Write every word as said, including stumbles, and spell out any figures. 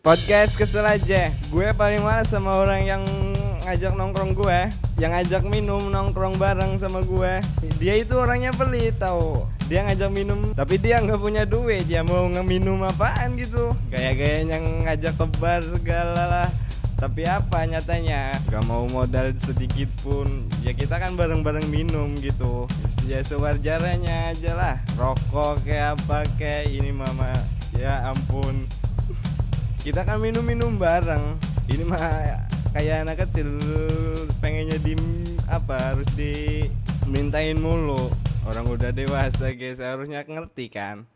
Podcast kesel aja. Gue paling malas sama orang yang ngajak nongkrong gue, yang ngajak minum nongkrong bareng sama gue. Dia itu orangnya pelit tau. Dia ngajak minum tapi dia nggak punya duit. Dia mau ngeminum apaan gitu? Gaya-gayanya ngajak ke bar segala lah. Tapi apa nyatanya? Gak mau modal sedikit pun. Ya kita kan bareng-bareng minum gitu. Ya sewajarnya aja lah. Rokok kayak apa kayak ini mama. Ya ampun. Kita kan minum-minum bareng. Ini mah kayak anak kecil pengennya di apa harus dimintain mulu. Orang udah dewasa guys, harusnya ngerti kan.